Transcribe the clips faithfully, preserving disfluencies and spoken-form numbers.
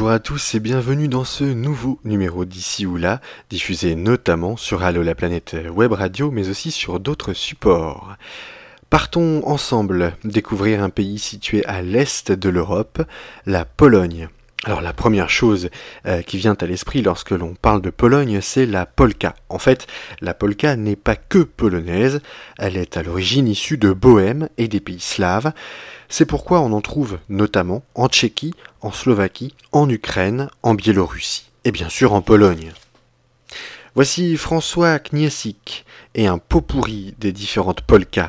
Bonjour à tous et bienvenue dans ce nouveau numéro d'Ici ou Là, diffusé notamment sur Allo la planète web radio mais aussi sur d'autres supports. Partons ensemble découvrir un pays situé à l'est de l'Europe, la Pologne. Alors la première chose euh, qui vient à l'esprit lorsque l'on parle de Pologne, c'est la polka. En fait, la polka n'est pas que polonaise, elle est à l'origine issue de Bohême et des pays slaves. C'est pourquoi on en trouve notamment en Tchéquie, en Slovaquie, en Ukraine, en Biélorussie et bien sûr en Pologne. Voici François Kniesik et un pot pourri des différentes polkas.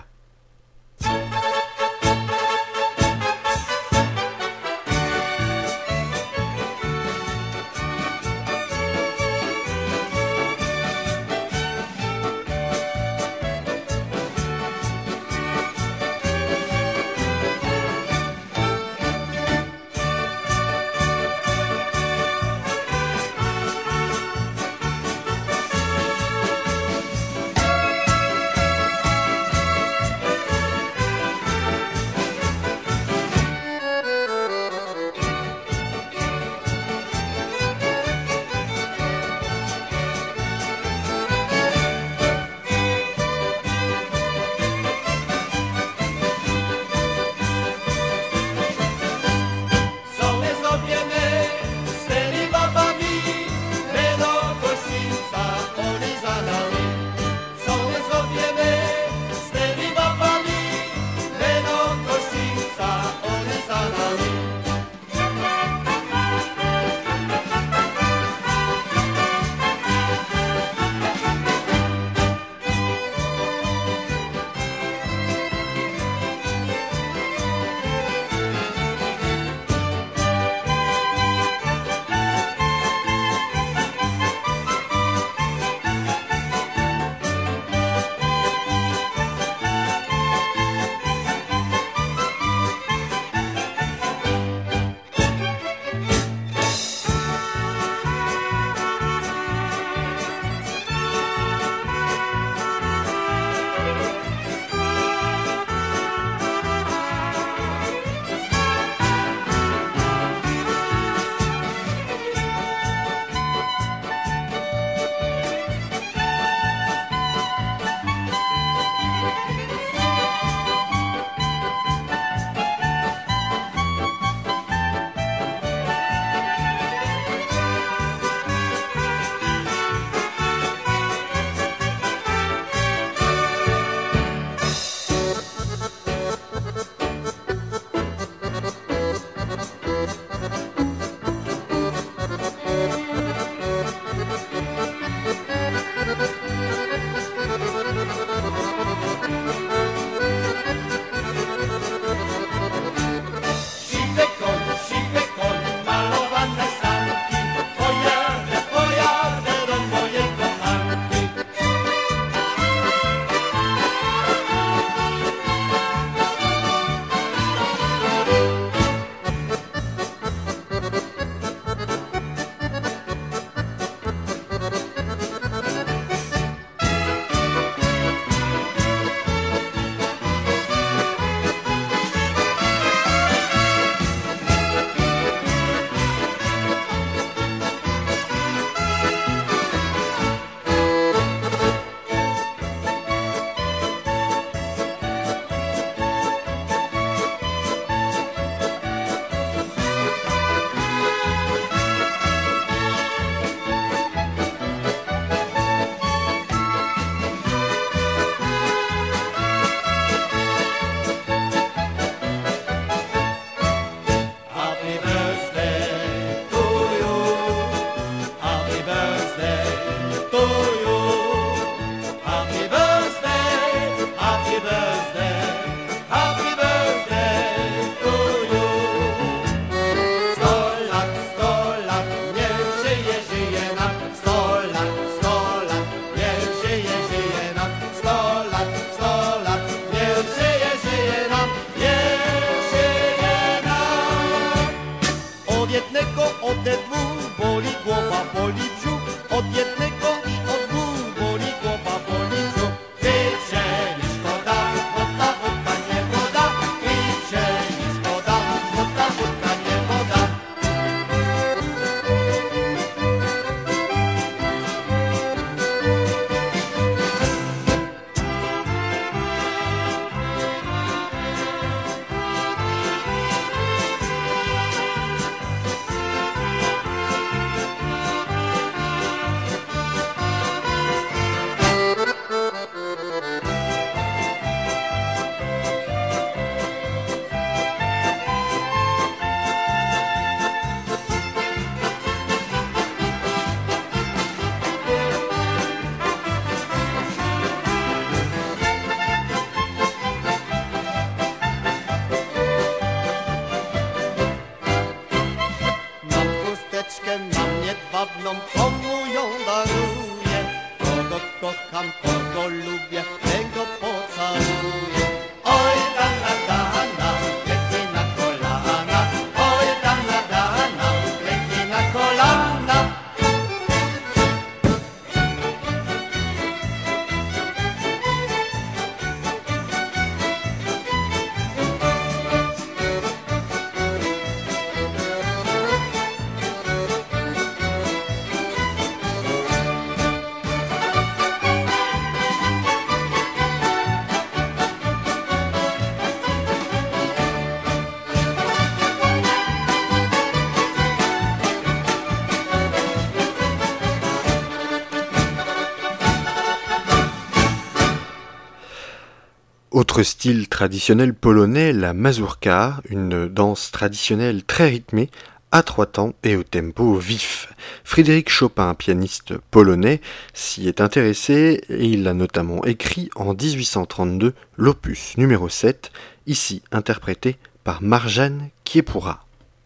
Autre style traditionnel polonais, la mazurka, une danse traditionnelle très rythmée, à trois temps et au tempo vif. Frédéric Chopin, pianiste polonais, s'y est intéressé et il a notamment écrit en dix-huit cent trente-deux l'opus numéro sept, ici interprété par Marjane Kiepoura.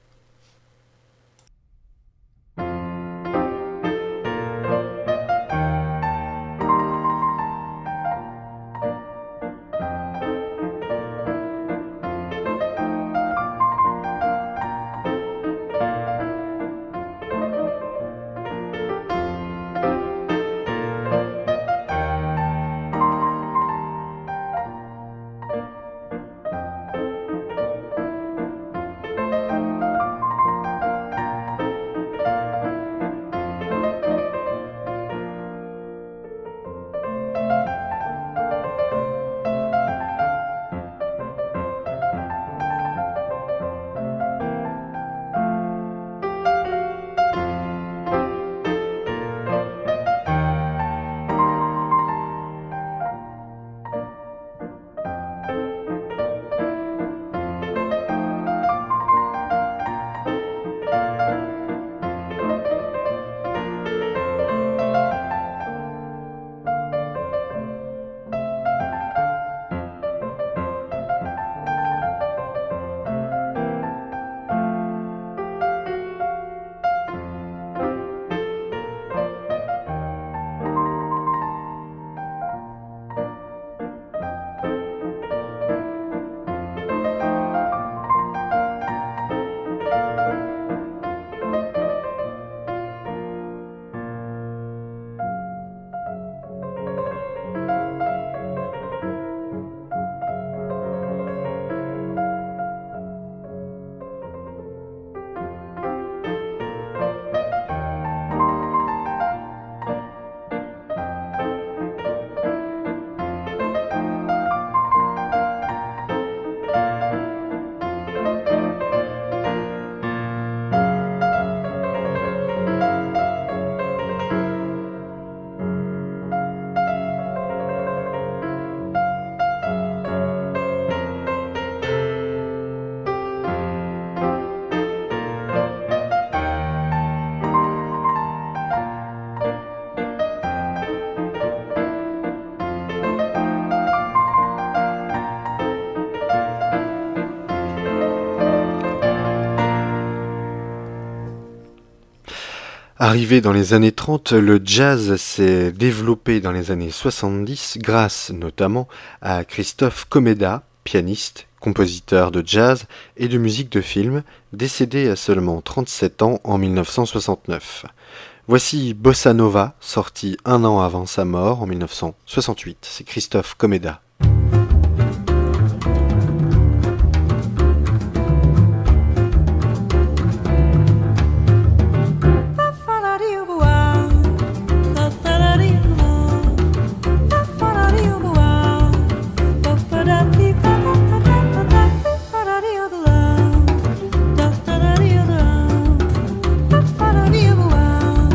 Arrivé dans les années trente, le jazz s'est développé dans les années soixante-dix grâce notamment à Christophe Komeda, pianiste, compositeur de jazz et de musique de film, décédé à seulement trente-sept ans en mille neuf cent soixante-neuf. Voici Bossa Nova, sorti un an avant sa mort en mille neuf cent soixante-huit. C'est Christophe Komeda.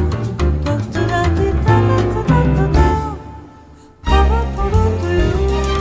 Do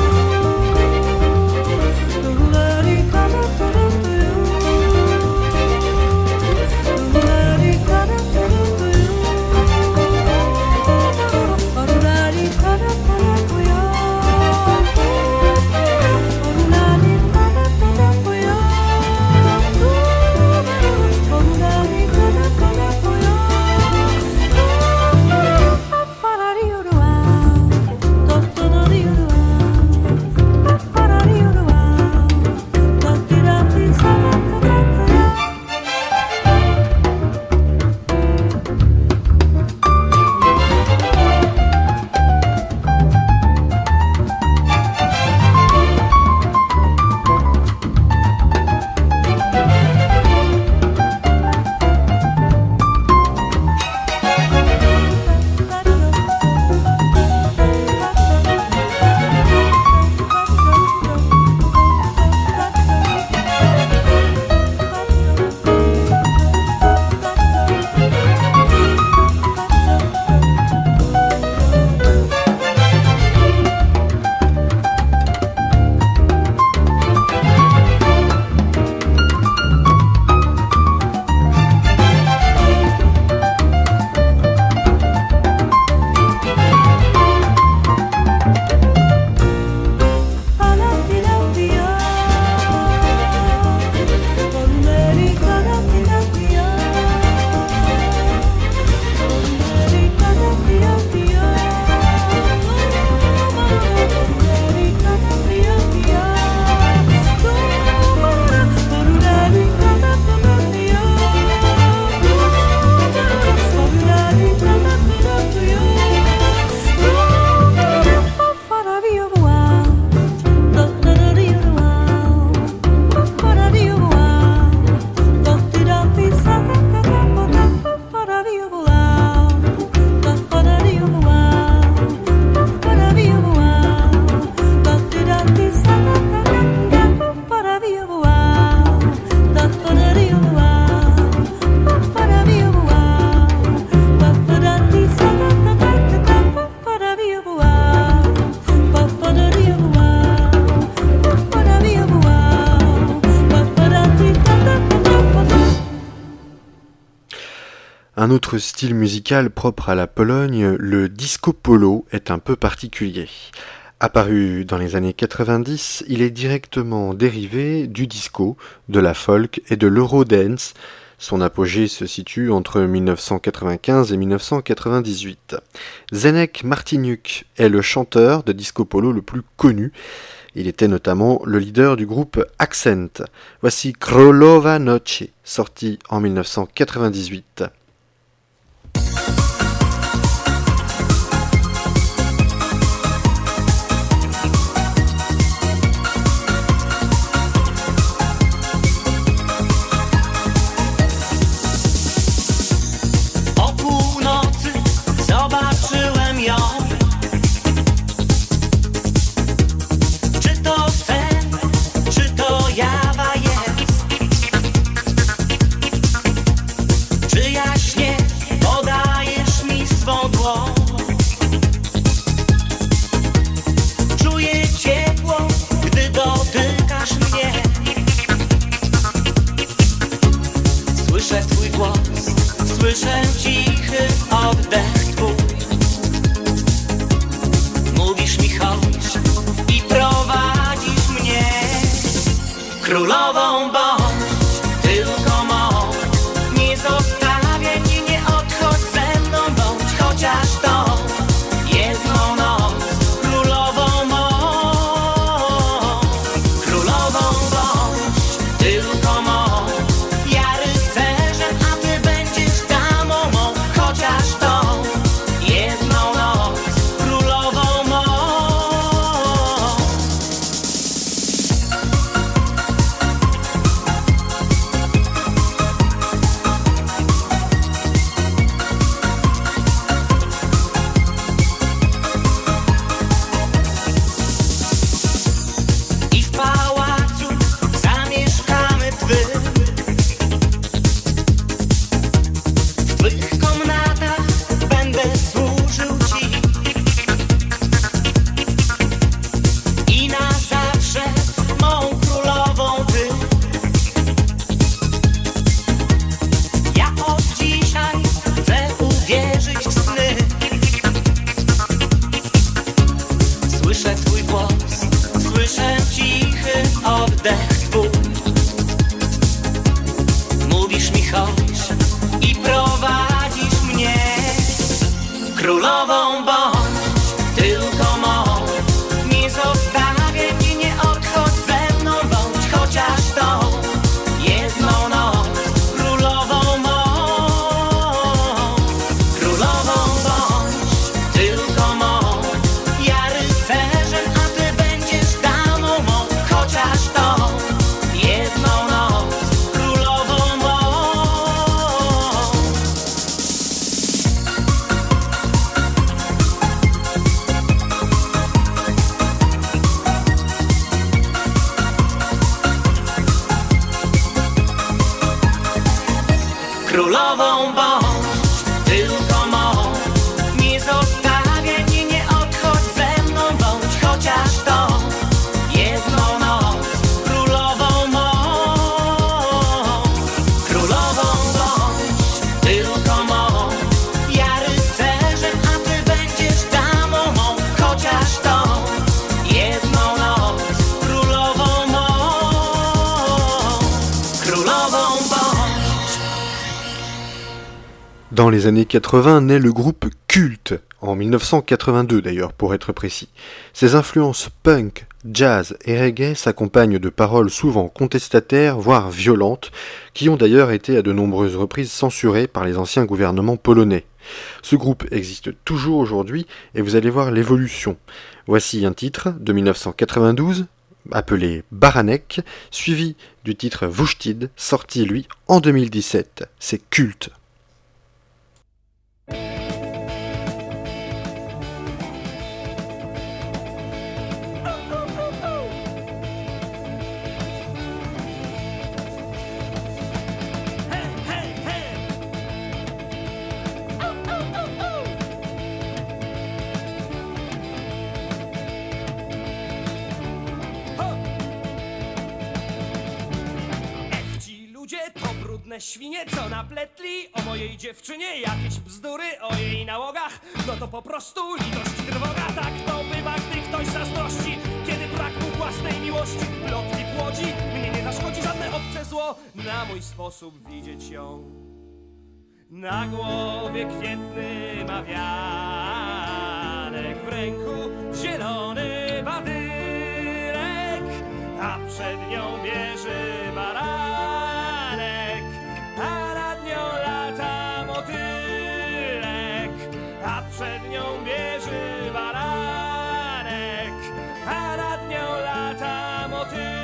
Un autre style musical propre à la Pologne, le disco polo, est un peu particulier. Apparu dans les années quatre-vingt-dix, il est directement dérivé du disco, de la folk et de l'eurodance. Son apogée se situe entre mille neuf cent quatre-vingt-quinze et mille neuf cent quatre-vingt-dix-huit. Zdeněk Martiniuk est le chanteur de disco polo le plus connu. Il était notamment le leader du groupe Accent. Voici Królowa Nocy, sorti en mille neuf cent quatre-vingt-dix-huit. Słyszę cichy oddech twój. Mówisz mi chodź i prowadzisz mnie. Królową bądź, tylko mą. Nie zostawiaj mnie, nie odchodź ze mną, bądź chociaż tą jedną noc. Królową mą. Królową bądź, tylko mą. Królową bądź, tylko mą. Nie zostawiaj mnie, nie odchodź ze mną, bądź chociaż tą jedną noc. Królową mą. Królową bądź, tylko mą. Ja rycerzem, a ty będziesz damą mą, chociaż tą jedną noc. Królową mą. Królową bądź, tylko mą. Nie zostawiaj mnie, nie odchodź ze mną, bądź chociaż tą jedną noc. Królową mą. Królową bądź, tylko mą. Ja rycerzem, a ty będziesz damą mą, chociaż tą jedną noc. Królową mą. Królową bądź. Dans les années quatre-vingts naît le groupe Cult, en mille neuf cent quatre-vingt-deux d'ailleurs pour être précis. Ses influences punk, jazz et reggae s'accompagnent de paroles souvent contestataires, voire violentes, qui ont d'ailleurs été à de nombreuses reprises censurées par les anciens gouvernements polonais. Ce groupe existe toujours aujourd'hui et vous allez voir l'évolution. Voici un titre de mille neuf cent quatre-vingt-douze, appelé Baranek, suivi du titre Wuchtid, sorti lui en deux mille dix-sept. C'est Cult. Ludzie to brudne Nędzne świnie, co napletli o mojej dziewczynie jakieś bzdury o jej nałogach. No to po prostu litość i trwoga. Tak to bywa, gdy ktoś zazdrości, kiedy brak mu własnej miłości. Plotki płodzi, mnie nie zaszkodzi żadne obce zło. Na mój sposób widzieć ją. Na głowie kwietny ma wianek, w ręku zielony badyrek, a przed nią bierze baranek, a nad nią lata motylek, a przed nią bierze baranek, a nad nią lata motylek.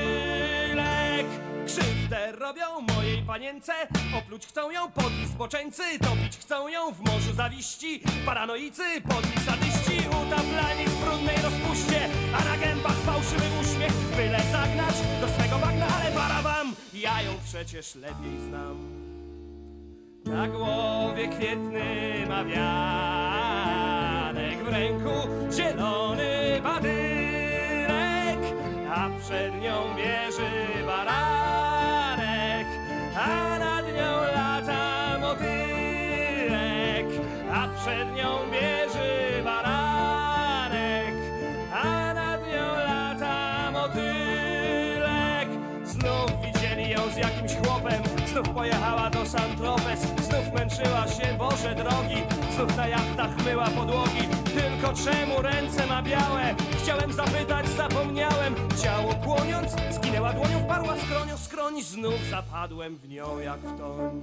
Krzywdę robią mojej panience, opluć chcą ją podli zboczeńcy, topić chcą ją w morzu zawiści, paranoicy, podli sadyści, utaplani w brudnej rozpuście, a na gębach fałszywy uśmiech, byle zagnać do swego bagna, ale para wam, ja ją przecież lepiej znam. Na głowie kwietny ma wianek, w ręku zielony badyrek, a przed nią bierze baranek, a nad nią lata motylek, a przed nią bierze baranek, a nad nią lata motylek. Znów widzieli ją z jakimś chłopem, znów pojechała do Saint-Tropez, znów męczyła się, Boże drogi, znów na jachtach myła podłogi. Tylko czemu ręce ma białe? Chciałem zapytać, zapomniałem. Ciało kłoniąc, skinęła dłonią, wparła skronią skroń, znów zapadłem w nią jak w toń.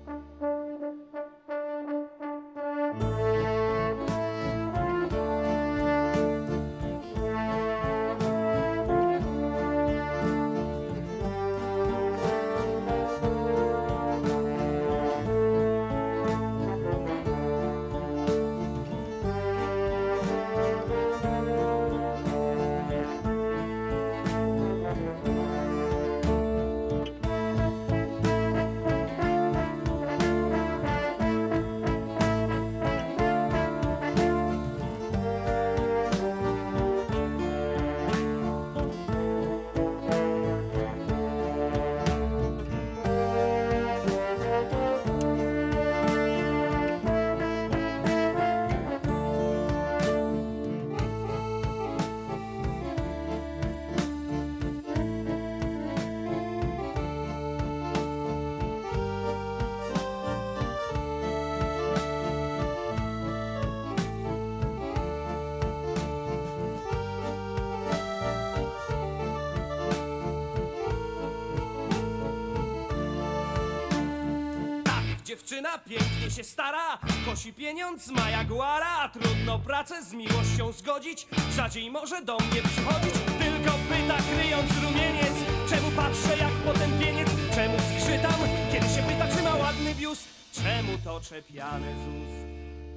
Dziewczyna pięknie się stara, kosi pieniądz, ma jaguara. Trudno pracę z miłością zgodzić, rzadziej może do mnie przychodzić. Tylko pyta, kryjąc rumieniec, czemu patrzę jak potępieniec, czemu skrzytam, kiedy się pyta, czy ma ładny biust, czemu to czepiane z ust.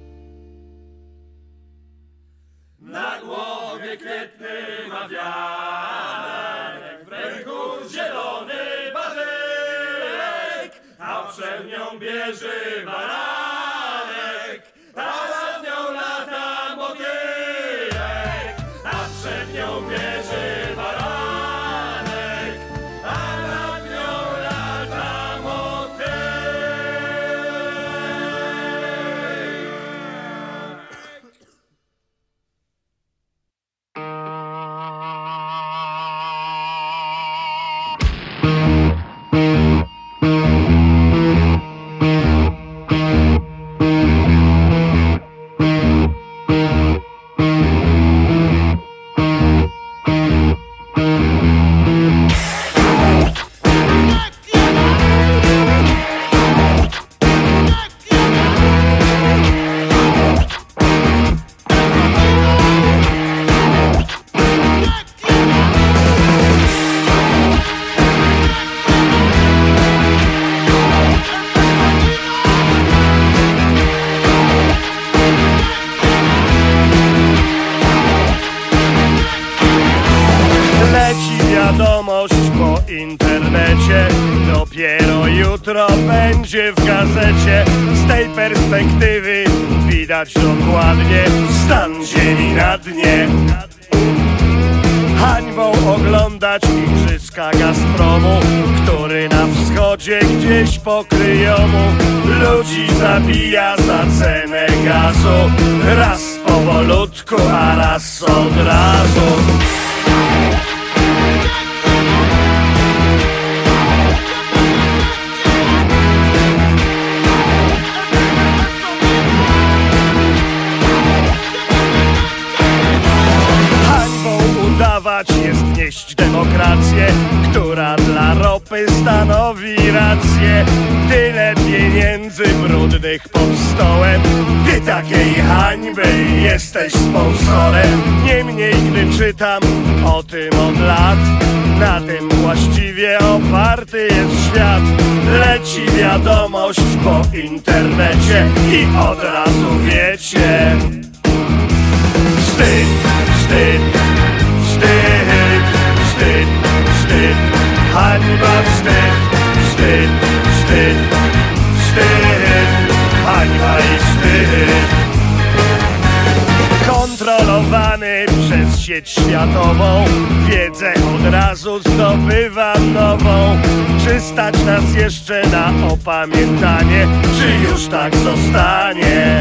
Na głowie kwietny ma wianek, w ręku zielony badyrek, a przed nią bierze baranek, a nad nią lata motylek, a przed nią bierze baranek, a nad nią lata motylek. internecie. Dopiero jutro będzie w gazecie. Z tej perspektywy widać dokładnie stan ziemi na dnie. Hańbą oglądać oglądać igrzyska Gazpromu, który na wschodzie gdzieś pokryjomu ludzi zabija za cenę gazu. Raz powolutku, a raz od razu. Jest nieść demokrację, która dla ropy stanowi rację. Tyle pieniędzy brudnych pod stołem, ty takiej hańby jesteś sponsorem. Niemniej gdy czytam o tym od lat, na tym właściwie oparty jest świat. Leci wiadomość po internecie i od razu wiecie: wstyd, wstyd, wstyd, wstyd, wstyd, hańba, wstyd, wstyd, wstyd, wstyd, hańba i wstyd. Kontrolowany przez sieć światową, wiedzę od razu zdobywam nową. Czy stać nas jeszcze na opamiętanie, czy już tak zostanie?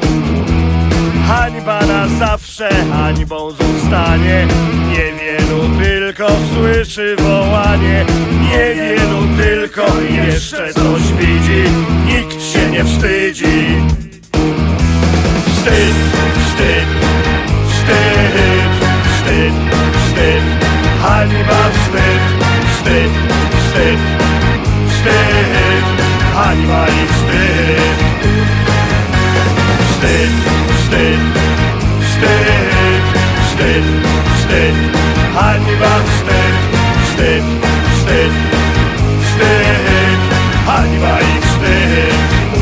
Hańba na zawsze hańbą zostanie. Niewielu tylko słyszy wołanie, niewielu tylko jeszcze coś widzi. Nikt się nie wstydzi. Wstyd, wstyd, wstyd, wstyd, wstyd, hańba, wstyd, wstyd, wstyd, wstyd, hańba i wstyd. Wstyd, wstyd, wstyd, wstyd, wstyd, hańba, wstyd, wstyd, wstyd, wstyd, hańba i wstyd.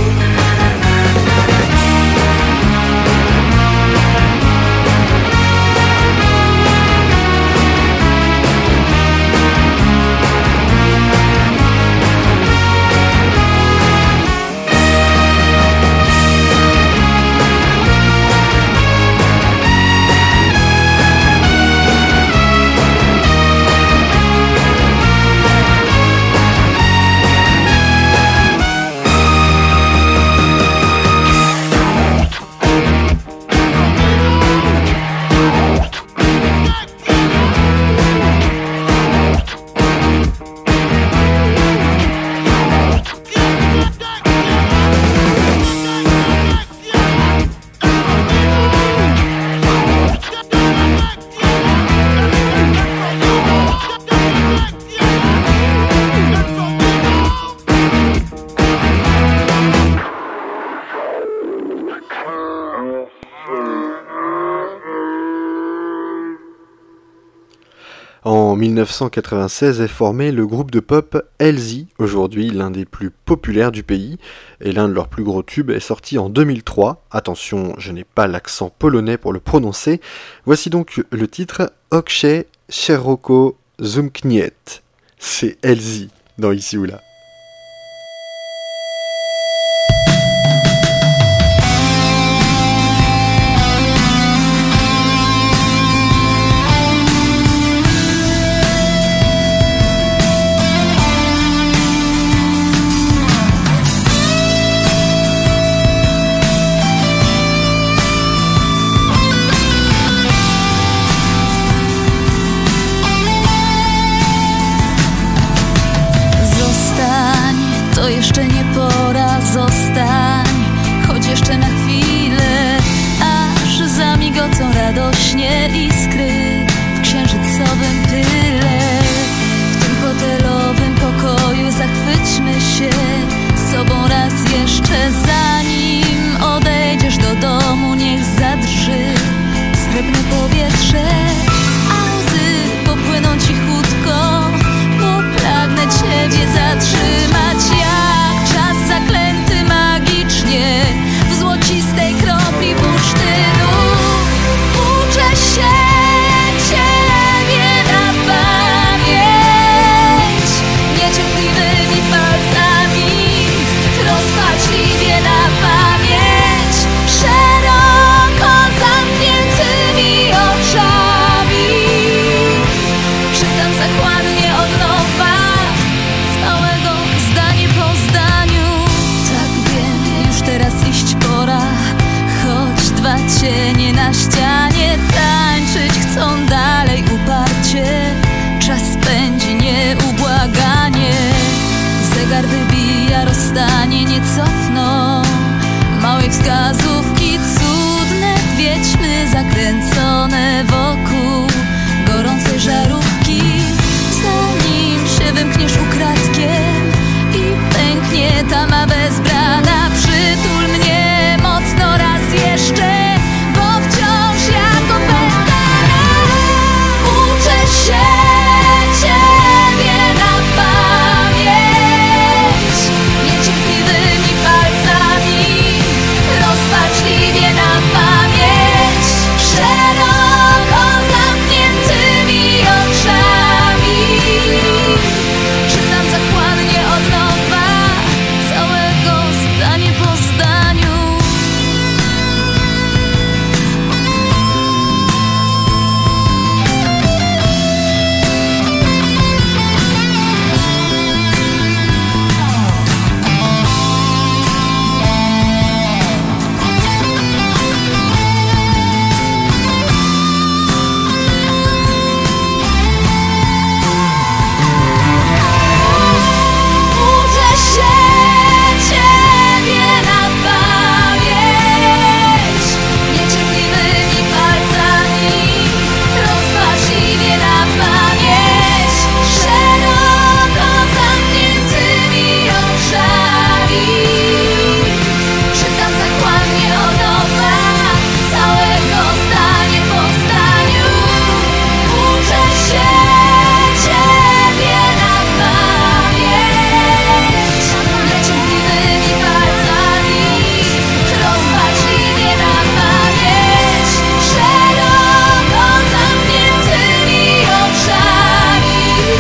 En mille neuf cent quatre-vingt-seize est formé le groupe de pop Elzy, aujourd'hui l'un des plus populaires du pays, et l'un de leurs plus gros tubes est sorti en deux mille trois. Attention, je n'ai pas l'accent polonais pour le prononcer. Voici donc le titre Oksze Szeroko Zumkniet. C'est Elzy dans Ici ou Là. Zostań stanie nie cofną. Małej wskazówki cudne, wiedźmy zakręcone wokół gorącej żarówki. Zanim się wymkniesz ukradkiem i pęknie tama bezbrana, przytul mnie mocno raz jeszcze, bo wciąż jako pętana uczę się Ciebie na pamięć. Niecierpliwymi palcami, rozpaczliwie na pamięć, szeroko zamkniętymi oczami czytam zachłannie od nowa całego zdanie po zdaniu. Uczę się Ciebie na pamięć. Niecierpliwymi palcami, rozpaczliwie na pamięć, szeroko zamkniętymi oczami czytam zachłannie od nowa całego zdanie po zdaniu. Uczę się Ciebie na pamięć. Niecierpliwymi palcami, rozpaczliwie na pamięć, szeroko zamkniętymi oczami.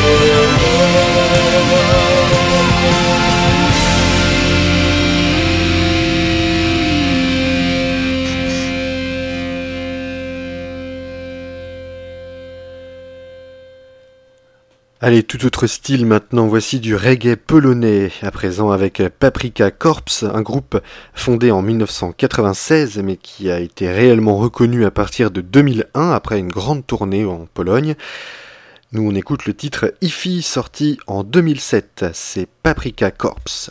Allez, tout autre style maintenant, voici du reggae polonais, à présent avec Paprika Corps, un groupe fondé en mille neuf cent quatre-vingt-seize mais qui a été réellement reconnu à partir de deux mille un après une grande tournée en Pologne. Nous on écoute le titre Ifi sorti en deux mille sept, c'est Paprika Corps.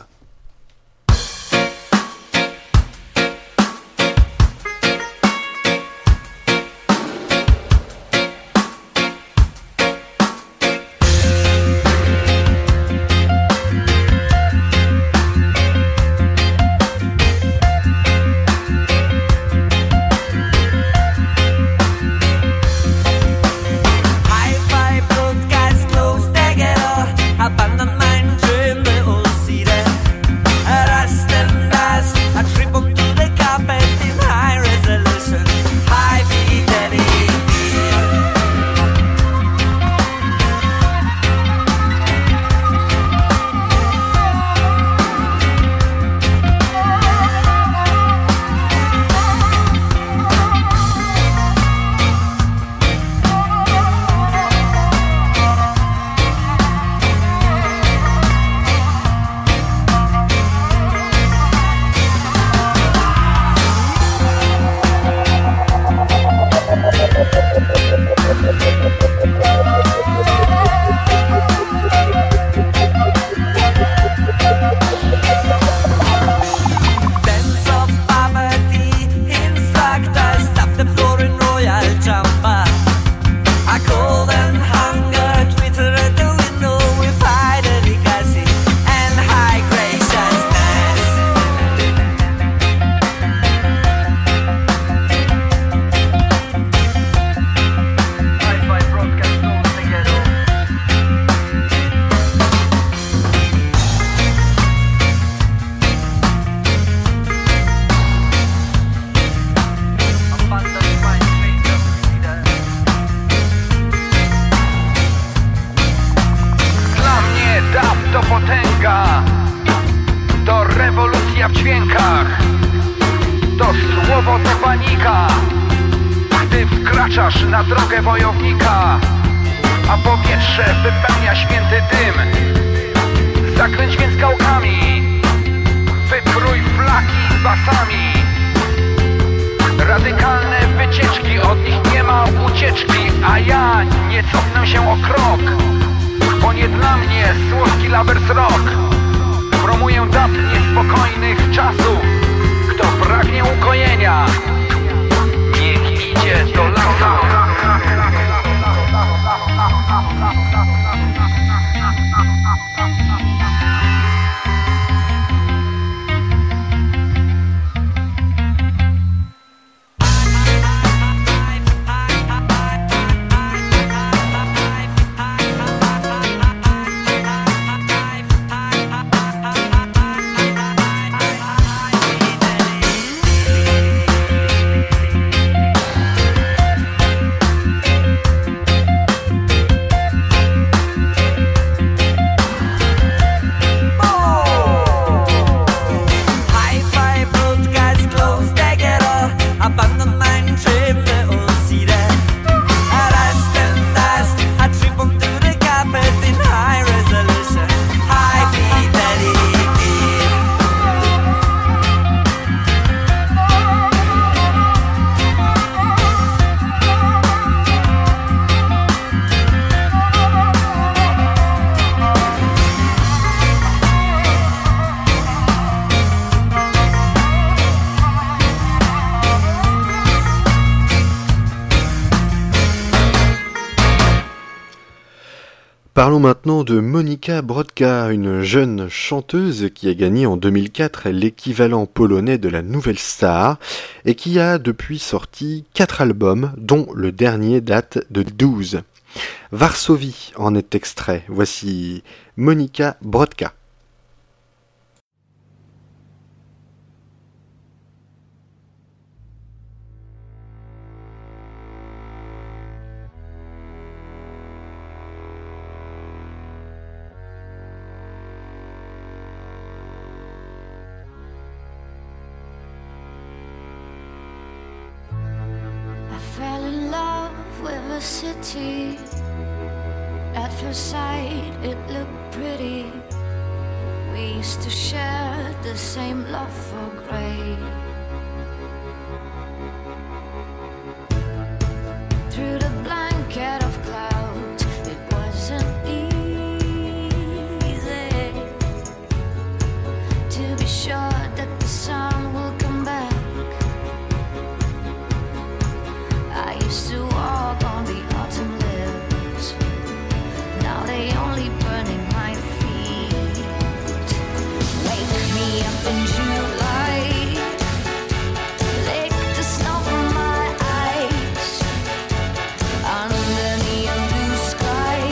Hi-Fi broadcast close together, abandon mein Träume und Siede. Rust and dust, a trip onto the carpet in high resolution, high fidelity. Dance of poverty, instructors tap the floor in royal jumper. A cold and hunger, Twitter at the window with high delicacy and high graciousness. Hi-Fi broadcast goes together. Abandon my train of leader. Dla mnie dub to potęga, to rewolucja w dźwiękach, to słowo to panika, gdy wkraczasz na drogę wojownika, a powietrze wypełnia święty dym. Zakręć więc gałkami, wyprój flaki basami. Radykalne wycieczki, od nich nie ma ucieczki, a ja nie cofnę się o krok, bo nie dla mnie słodki Lovers Rock. Promuję dub spokojnych czasów. Kto pragnie ukojenia, niech idzie do lasa. Parlons maintenant de Monika Brodka, une jeune chanteuse qui a gagné en deux mille quatre l'équivalent polonais de la Nouvelle Star et qui a depuis sorti quatre albums, dont le dernier date de douze. Varsovie en est extrait. Voici Monika Brodka. City. At first sight it looked pretty. We used to share the same love for grey. Through the blanket of clouds it wasn't easy to be sure that the sun will come back. I used to walk on the autumn leaves. Now they only burn in my feet. Wake me up in July. Lick the snow from my eyes. Under neon blue sky.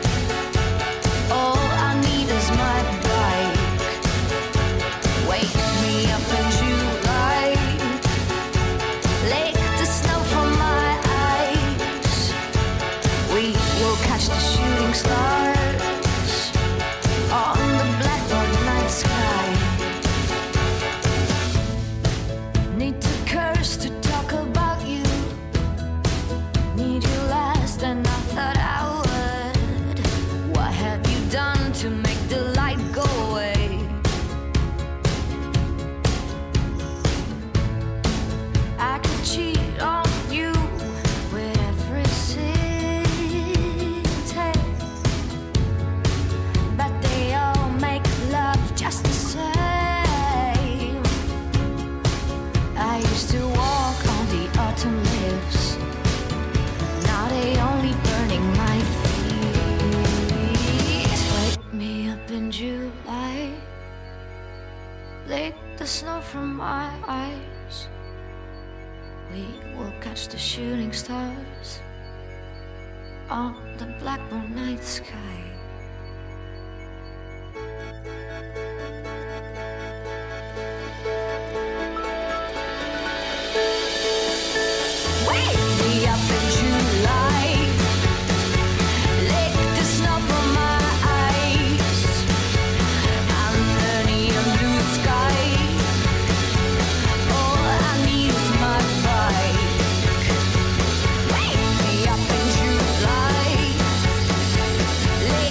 All I need is my bike. Wake me up in July. Lick the snow from my eyes. We will catch the shooting stars on the blackboard night sky. Need to curse to talk about you. Need you last and I thought I would. What have you done to make the light go away? I could cheat on you with every city, but they all make love just the same. I used to walk on the autumn leaves. Now they only burning my feet. Wake me up in July. Lick the snow from my eyes. We will catch the shooting stars on the blackboard night sky. Wake me up in July. Lick the snow from my eyes. Under neon blue sky. All I need is my bike. Wake me up in July. Lick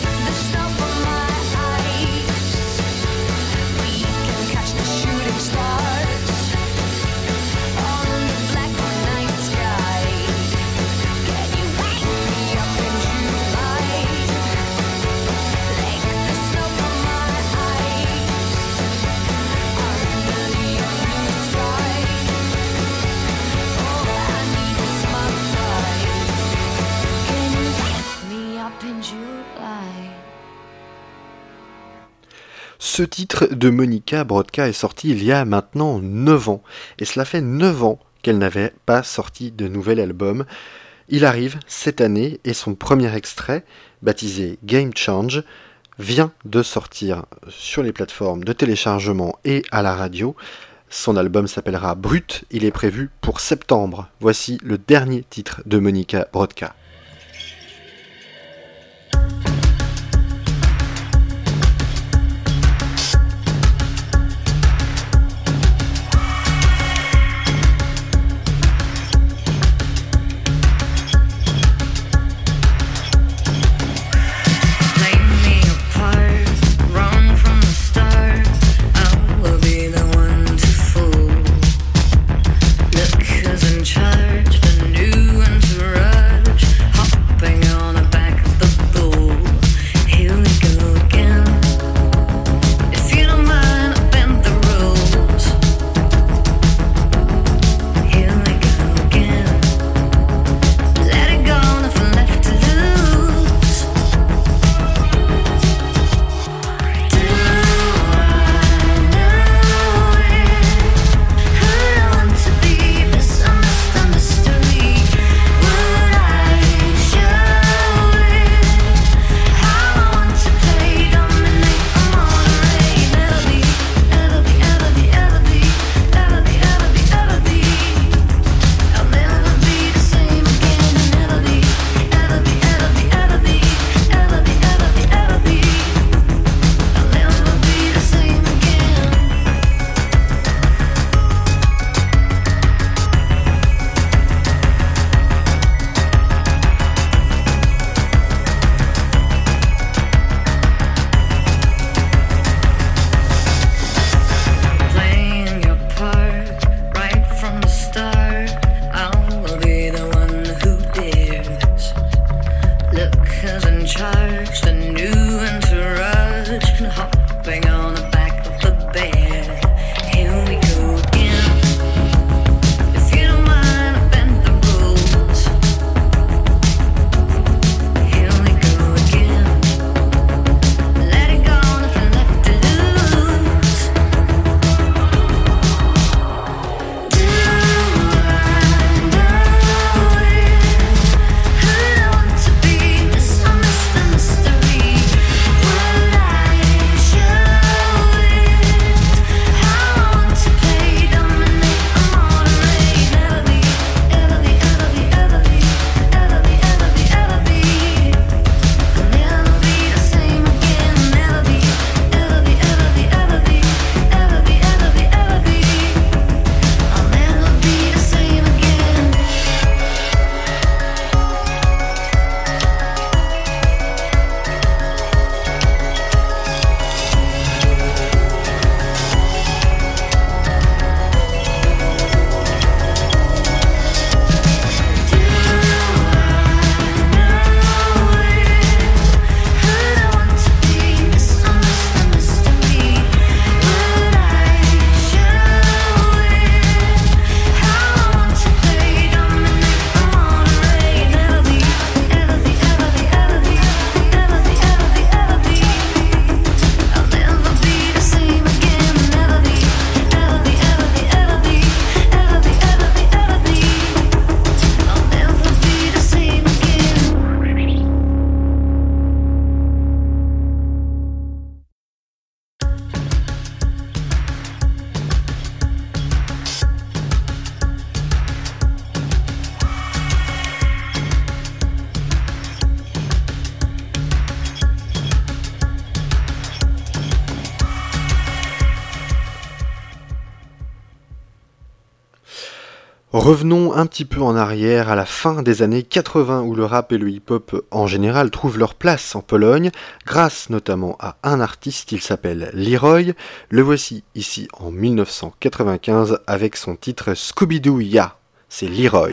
up in July. Ce titre de Monica Brodka est sorti il y a maintenant neuf ans, et cela fait neuf ans qu'elle n'avait pas sorti de nouvel album. Il arrive cette année, et son premier extrait, baptisé Game Change, vient de sortir sur les plateformes de téléchargement et à la radio. Son album s'appellera Brut, il est prévu pour septembre. Voici le dernier titre de Monica Brodka. Charged a new entourage, hopping on the back of the bull. Here we go again. If you don't mind, I bend the rules. Here we go again. Let it go, nothing left to lose. Do I know it? Who I want to be, misunderstood. A mystery. Would I show it? How I want to play, dominate, I'm on a ray. Never be, ever be, ever be, ever be, ever be, ever be, ever be. I'll never be the same again. Never be, ever be, ever be, ever be, ever be, ever be, ever be. I'll never be the same again. Playing your part right from the start. I'll be the one who dares. Look who's in charge, the new entourage, hopping on the back of the bear. Here we go again. If you don't mind, I bend the rules. Here we go again. Let it go, nothing left to lose. Do I know it? Who I want to be, misunderstood mystery. Would I show it? How I want to play, dominate, I'm on a ray. Never be, ever be, ever be, ever be, ever be, ever be, ever be. I'll never be the same again. Never be, ever be, ever be, ever be, ever be, ever be, ever be. I'll never be the same again. Do I know it? Who I want to be, misunderstood mystery. Would I show it? How I want to play, dominate, I'm on a ray. Never be, ever be, ever be, ever be, ever be, ever be, ever be. I'll never be the same again. Never be, ever be, ever be, ever be, ever be, ever be, ever be. I'll never be the same again. Revenons un petit peu en arrière à la fin des années quatre-vingts où le rap et le hip-hop en général trouvent leur place en Pologne, grâce notamment à un artiste, il s'appelle Leroy. Le voici ici en mille neuf cent quatre-vingt-quinze avec son titre Scooby-Doo Ya. C'est Leroy.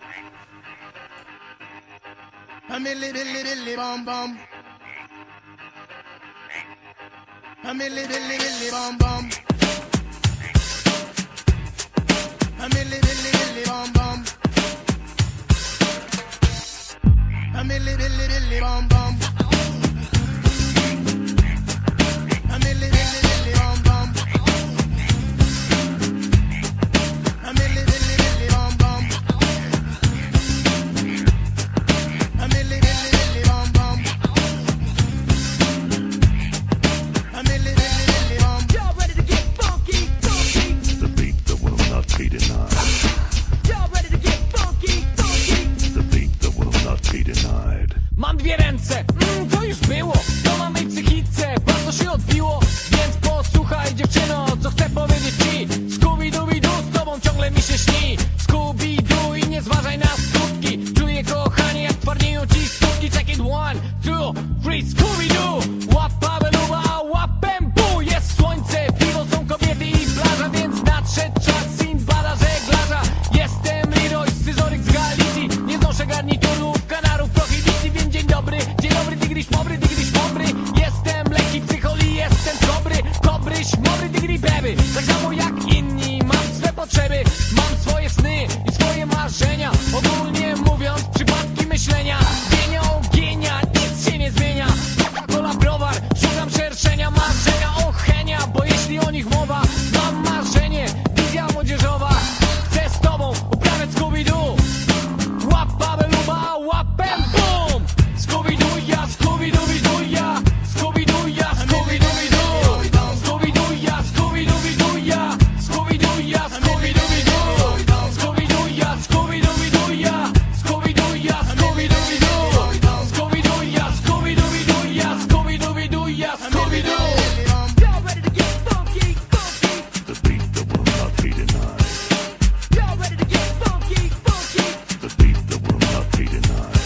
A milli billi billi bom bom. A milli billi billi bom bom. A milli billi billi bom bom. A A milli billy billy bum bum. A milli billy billy bum bum. A milli billy billy bum bum. A milli billy billy bum bum. A milli billy billy bum. Y'all ready to get funky, funky? The beat that will not be denied. Y'all ready to get funky, funky? The beat that will not be denied. Mam dwie ręce, mm, to już było. To ma mej psychice, bardzo się odbiło. Więc posłuchaj dziewczyno, co chcę powiedzieć ci. Scooby-Dooby-Doo, z tobą ciągle mi się śni. Scooby-Doo i nie zważaj na skutki. Czuję kochanie, jak twardnieją ci sutki. Check it one, two, three, Scooby-Doo. Łapa, beluba, łapem, bu. Jest słońce, piwo, są kobiety i plaża. Więc nadszedł czas Sindbada, żeglarza. Jestem Leroy, scyzoryk z Galicji. Nie znoszę garniturów, kanarów, prohibicji. Więc dzień dobry, dzień dobry, digriś mobry, digriś mobry. Jestem lekki psycholi, jestem dobry. Kobry, śmobry, digri beby. Tak samo jak inni, mam swe potrzeby. Mam swoje sny i swoje marzenia. Ogólnie mówiąc, przypadki myślenia. Gienia, o gienia, nic się nie zmienia. Coca-Cola, browar, szukam szerszenia. Marzenia, ochenia, bo jeśli o nich mowa, mam marzenie, wizja młodzieżowa. Chcę z tobą uprawiać Scooby-Doo. Łapa, beluba, łapem, bum. Scooby-Doo, ja, Scooby-Dooby-Doo, ja. Scooby-Doo, ja, Scooby-Dooby-Doo. Scooby-Doo, ja, Scooby-Dooby-Doo, ja. Scooby-Doo, ja, Scooby-Dooby-Doo. Scooby-Doo, ja, Scooby-Dooby-Doo, ja. Scooby-Doo, ja, Scooby-Dooby-Doo. Scooby-Doo, ja, Scooby-Dooby-Doo, ja. Scooby-Dooby-Doo, ja, Scooby-Doo. Y'all ready to get funky, funky? The beat that will not be denied. Y'all ready to get funky, funky? The beat that will not be denied.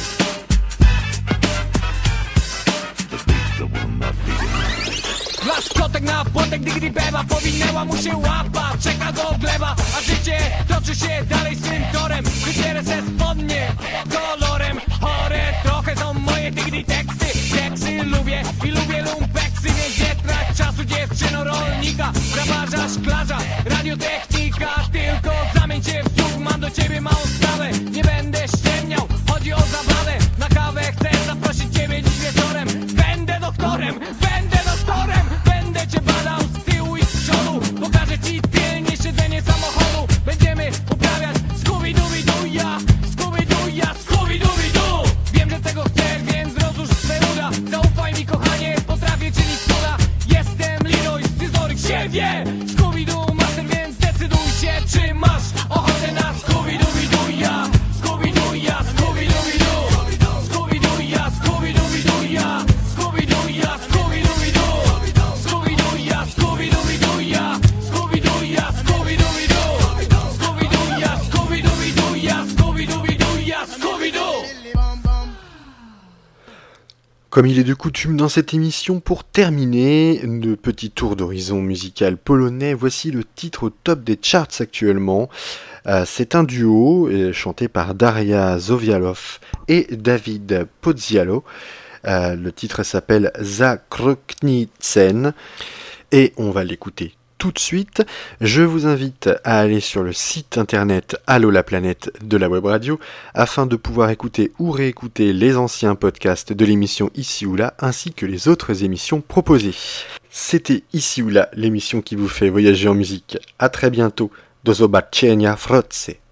The beat that will not be denied. Laskotek na płotek, digri beba. Powinęła mu się łapa, czeka do gleba. A życie toczy się dalej swym torem. Wybierę se spodnie kolorem. Chore trochę są moje digri teksty. Teksty lubię i lubię lumpeksy. Więc nie trać czasu dziewczyno rolnika. Grabarza, szklarza, radiotechnika. Tylko zamień się w słuch, mam do ciebie małą sprawę. Nie będę ściemniał, chodzi o zabawę. Na kawę chcę zaprosić ciebie dziś wieczorem. Będę doktorem, będę doktorem. Będę cię badał z tyłu i z przodu. Pokażę ci tylnie siedzenie samochodu. Będziemy uprawiać Scooby-Dooby-Doo, ja. Scooby-Doo, ja, Scooby-Dooby-Doo. Wiem, że tego chcesz, więc rozłóż swe uda. Zaufaj mi kochanie, potrafię czynić cuda. Jestem Leroy, scyzoryk się wie. Scooby-Doo master, więc decyduj się, czy masz ochotę na Scooby-Dooby-Doo, ja. Scooby-Doo, ja, Scooby-Dooby-Doo. Scooby-Doo, ja, Scooby-Dooby-Doo, ja. Scooby-Doo, ja, Scooby-Dooby-Doo. Scooby-Doo, ja, Scooby-Dooby-Doo, ja. Scooby-Doo, ja, Scooby-Dooby-Doo. Scooby-Doo, ja, Scooby-Dooby-Doo, ja. Scooby-Dooby-Doo, ja, Scooby-Doo. Billy bum bum. Comme il est de coutume dans cette émission, pour terminer le petit tour d'horizon musical polonais, voici le titre au top des charts actuellement. Euh, c'est un duo euh, chanté par Daria Zowialow et David Pozzialo. Euh, le titre s'appelle Zakroknicen et on va l'écouter tout de suite. Je vous invite à aller sur le site internet Allo la planète de la web radio afin de pouvoir écouter ou réécouter les anciens podcasts de l'émission Ici ou Là ainsi que les autres émissions proposées. C'était Ici ou Là, l'émission qui vous fait voyager en musique. À très bientôt. Do zobaczenia wkrótce.